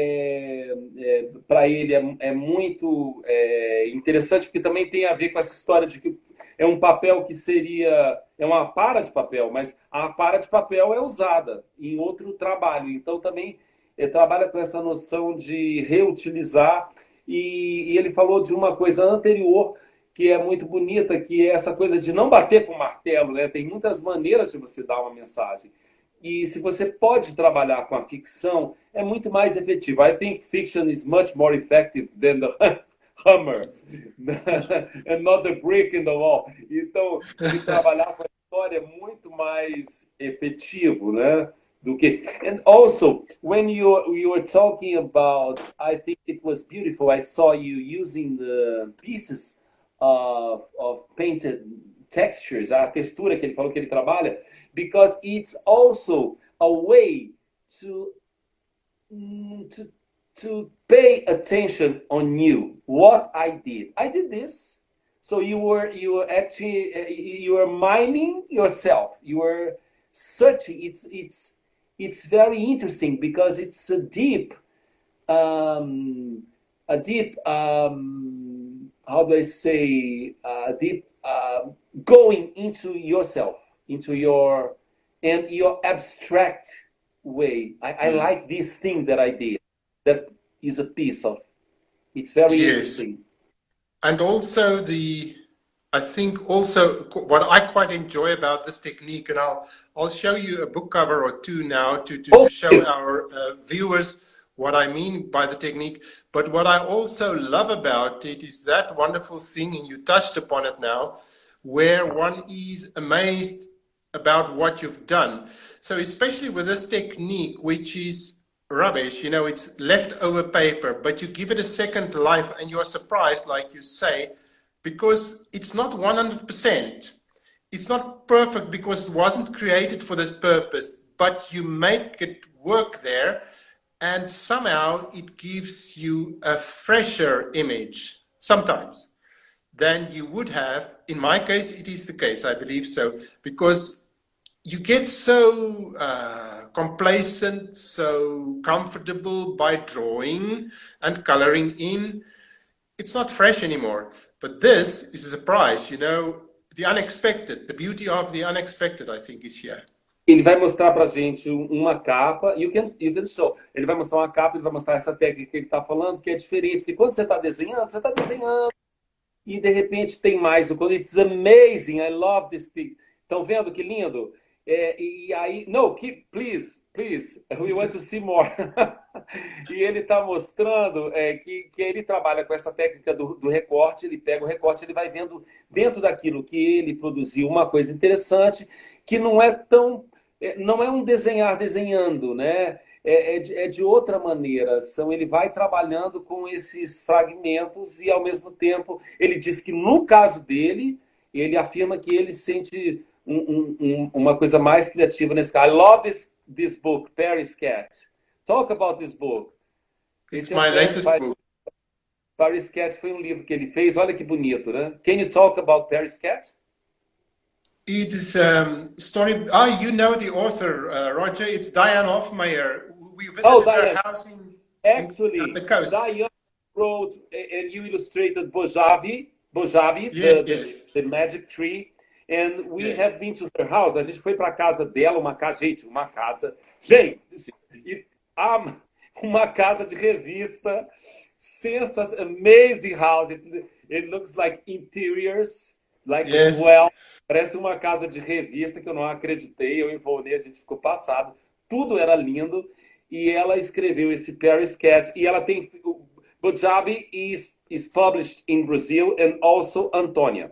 é, é, para ele é, é muito é, interessante, porque também tem a ver com essa história de que é um papel que seria... É uma para de papel, mas a para de papel é usada em outro trabalho. Então, também é, trabalha com essa noção de reutilizar. E, e ele falou de uma coisa anterior que é muito bonita, que é essa coisa de não bater com martelo, né? Tem muitas maneiras de você dar uma mensagem. E se você pode trabalhar com a ficção, é muito mais efetivo. I think fiction is much more effective than the hammer and not the brick in the wall. Então, de trabalhar com a história é muito mais efetivo, né? Do que... And also, when you, you were talking about, I think it was beautiful, I saw you using the pieces of, of painted textures, a textura que ele falou que ele trabalha, because it's also a way to, to, to pay attention on you, what I did. I did this. So you were, you were actually, you were mining yourself. You were searching. It's, it's, it's very interesting because it's a deep, um, a deep, um, how do I say, uh, deep, uh, going into yourself, into your, and your abstract way. I, I like this thing that I did. That is a piece of, it's very Yes. interesting. And also the, I think also what I quite enjoy about this technique, and I'll I'll show you a book cover or two now to, to, Oh, to show yes. our uh, viewers what I mean by the technique. But what I also love about it is that wonderful thing, and you touched upon it now, where one is amazed about what you've done. So especially with this technique, which is rubbish, you know, it's leftover paper, but you give it a second life and you're surprised, like you say, because it's not one hundred percent. It's not perfect because it wasn't created for this purpose, but you make it work there, and somehow it gives you a fresher image sometimes than you would have. In my case, it is the case, I believe so, because you get so uh, complacent, so comfortable by drawing and coloring in. It's not fresh anymore. But this is a surprise, you know, the unexpected, the beauty of the unexpected, I think, is here. Ele vai mostrar pra gente uma capa, you can, you can show. Ele vai mostrar uma capa, ele vai mostrar essa técnica que ele está falando, que é diferente. Porque quando você está desenhando, você está desenhando, e de repente tem mais. It's amazing, I love this picture. Estão vendo que lindo? É, e aí, no, keep, please, please, we want to see more. E ele está mostrando é, que, que ele trabalha com essa técnica do, do recorte, ele pega o recorte, ele vai vendo dentro daquilo que ele produziu uma coisa interessante, que não é tão, é, não é um desenhar desenhando, né? É, é, de, é de outra maneira, são, ele vai trabalhando com esses fragmentos e ao mesmo tempo, ele diz que no caso dele, ele afirma que ele sente Um, um, um, uma coisa mais criativa nesse caso. I love this, this book, Paris Cat. Talk about this book. It's Esse my é um latest Paris, book. Paris Cat foi um livro que ele fez. Olha que bonito, né? Can you talk about Paris Cat? It is a um, story. Ah, you know the author, uh, Roger. It's Diane Hoffmeyer. We visited Oh, her Diane. house in, Actually, in, on the coast. Diane wrote and you illustrated Bojavi, Bojavi, Yes, the, yes. the, the magic tree. And we Yes. have been to her house. A gente foi para a casa dela, uma casa, gente, uma casa. Gente, e, ah, uma casa de revista. Sensacional, amazing house. It, it looks like interiors, like Yes. well. Parece uma casa de revista que eu não acreditei. Eu e o Volney, a gente ficou passado. Tudo era lindo. E ela escreveu esse Paris Cat. E ela tem. Bojavi is, is published in Brazil and also Antônia.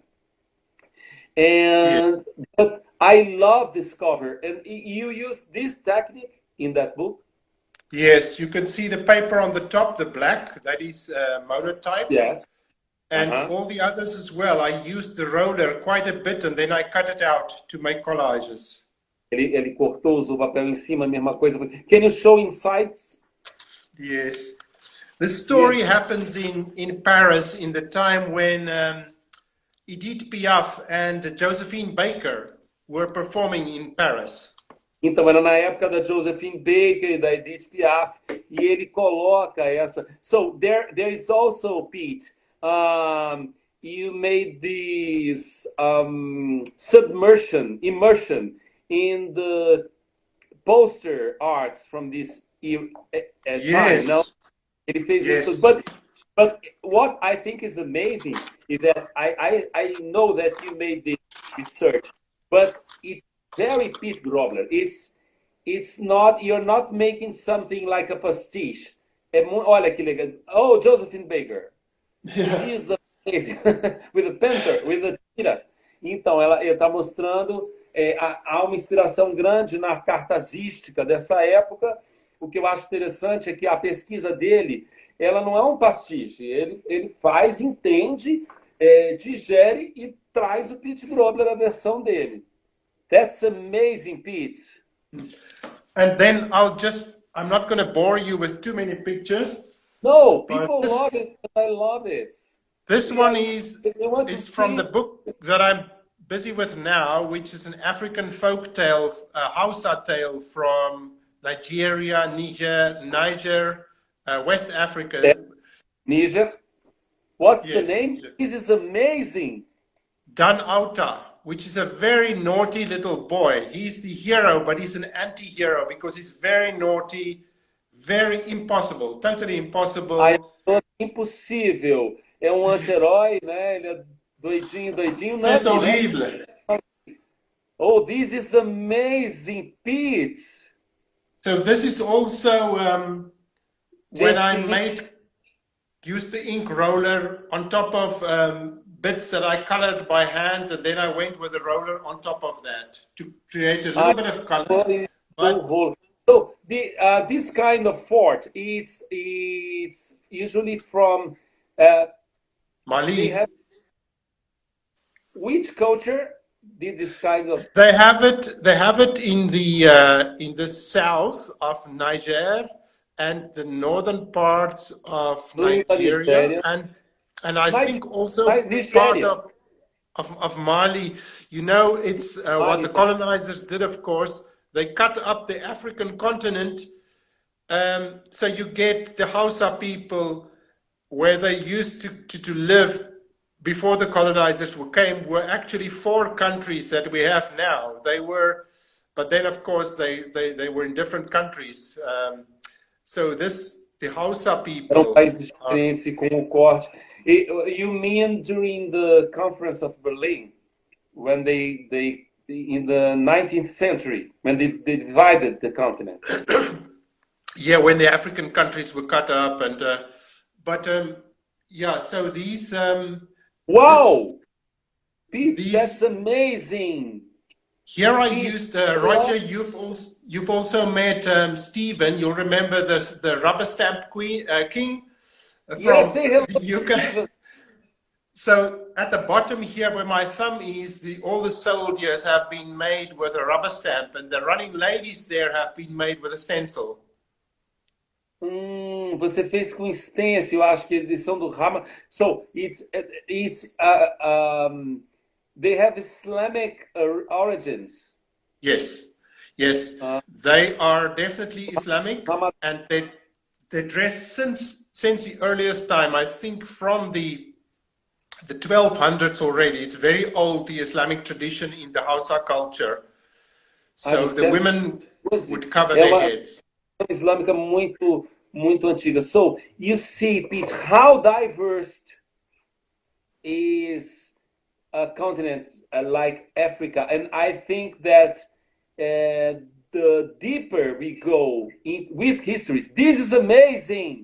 And yeah. But I love this cover. And you use this technique in that book? Yes, you can see the paper on the top, the black, that is uh, monotype. Yes. And uh-huh. all the others as well. I used the roller quite a bit and then I cut it out to make collages. Ele, ele cortou, usou o papel em cima, a mesma coisa. Can you show insights? Yes. The story yes. happens in, in Paris in the time when um, Edith Piaf and Josephine Baker were performing in Paris. Então, era na época da Josephine Baker e da Edith Piaf, e ele coloca essa. So, there, there is also, Pete, um, you made this um, submersion, immersion in the poster arts from this uh, yes. time, no? Ele fez yes. isso, but But what I think is amazing is that I, I, I know that you made this research, but it's very Pete Grobler. It's, it's not, you're not making something like a pastiche. É, olha que legal. Oh, Josephine Baker. Yeah. She's amazing. With a panther, with a tira. Então, ela está mostrando, é, há uma inspiração grande na cartazística dessa época. O que eu acho interessante é que a pesquisa dele, ela não é um pastiche, ele, ele faz, entende, é, digere e traz o Pete Grobler na versão dele. That's amazing, Pete. And then I'll just, I'm not going to bore you with too many pictures. No, people this, love it, I love it. This yeah, one is, is from see. the book that I'm busy with now, which is an African folk tale, a Hausa tale from Nigeria, Niger, Niger, uh, West Africa. Niger. What's yes. the name? This is amazing. Dan Auta, which is a very naughty little boy. He's the hero, but he's an anti-hero because he's very naughty, very impossible, totally impossible. Ah, é impossível. É um anti-herói, né? Ele é doidinho, doidinho. C'est horrible. Oh, this is amazing, Pete. So this is also um, when Gente, I que made, used the ink roller on top of um, bits that I colored by hand, and then I went with the roller on top of that to create a little I bit of color. foi o But rolo. So the uh, this kind of fort, it's it's usually from uh, they Mali, have which culture did this kind of they have it. They have it in the uh, in the south of Niger and the northern parts of do da Nigeria, Nigéria? and and I Nige- think also Ni- part Nigéria. of of, of Mali. You know, it's uh, what Mali the também. colonizers did. Of course, they cut up the African continent. Um, so you get the Hausa people where they used to, to, to live before the colonizers were came were actually four countries that we have now. They were, but then of course they, they, they were in different countries. Um, so this, the Hausa Eram people, países uh, diferentes e com o corte. E, you mean during the Conference of Berlin, when they they in the nineteenth century, when they, they divided the continent? yeah, when the African countries were cut up and, uh, but um, yeah, so these, um, Wow, Pete, these, that's amazing. here I Pete, used, uh, Roger, you've also, you've also met um, Stephen, you'll remember the, the rubber stamp queen, uh, king uh, from yes, say hello, U K. Stephen. So at the bottom here where my thumb is, the, all the soldiers have been made with a rubber stamp, and the running ladies there have been made with a stencil. Hum, você fez com stencil, eu acho que eles são do Rama. So it's it's uh, um, they have Islamic uh, origins. Yes, yes, Uh, they are definitely Islamic, Rama- and they they dress since since the earliest time. I think from the the twelve hundreds already. It's very old, the Islamic tradition in the Hausa culture. So the women would cover é their uma heads. islâmica muito muito antiga. So you see, Pete, how diverse is a continent uh, like Africa, and I think that uh, the deeper we go in, with histories, this is amazing.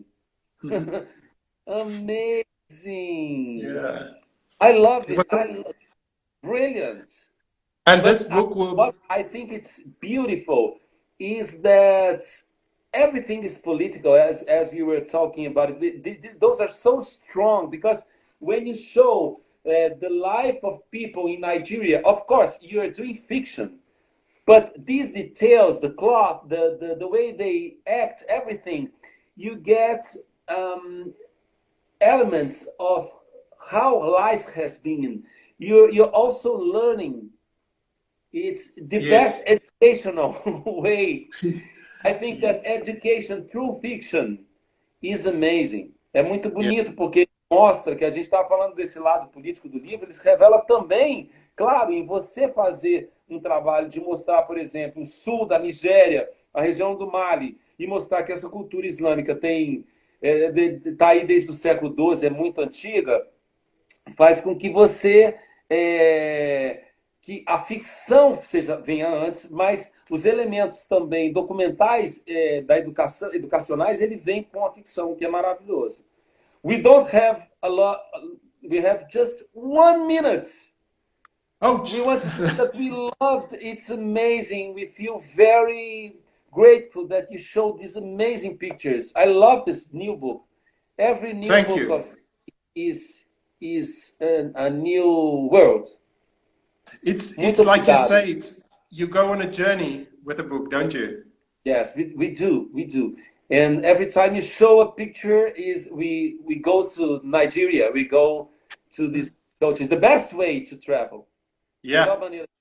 Amazing. Yeah. I love it. I love brilliant. And But this I, book will, what I think it's beautiful is that everything is political, as as we were talking about it. Th- th- Those are so strong because when you show uh, the life of people in Nigeria, of course, you are doing fiction, but these details, the cloth, the, the, the way they act, everything, you get um, elements of how life has been. You're, you're also learning. It's the yes, best educational way. I think that education through fiction is amazing. É muito yeah, bonito porque mostra que a gente está falando desse lado político do livro, eles revelam também, claro, em você fazer um trabalho de mostrar, por exemplo, o sul da Nigéria, a região do Mali, e mostrar que essa cultura islâmica tem é, de- de- tá aí desde o século doze, é muito antiga, faz com que você é, que a ficção seja venha antes, mas os elementos também documentais é, da educação educacionais ele vem com a ficção, que é maravilhoso. We don't have a lot. We have just one minute. ouch. We want to say that we loved. It's amazing. We feel very grateful that you showed these amazing pictures. I love this new book. Every new Thank book you. of is is a, a new world. It's it's Muito like you obrigado. say, it's you go on a journey with a book, don't you? Yes, we, we do, we do. And every time you show a picture, is we we go to Nigeria, we go to these cultures. The best way to travel. Melhor Yeah, maneira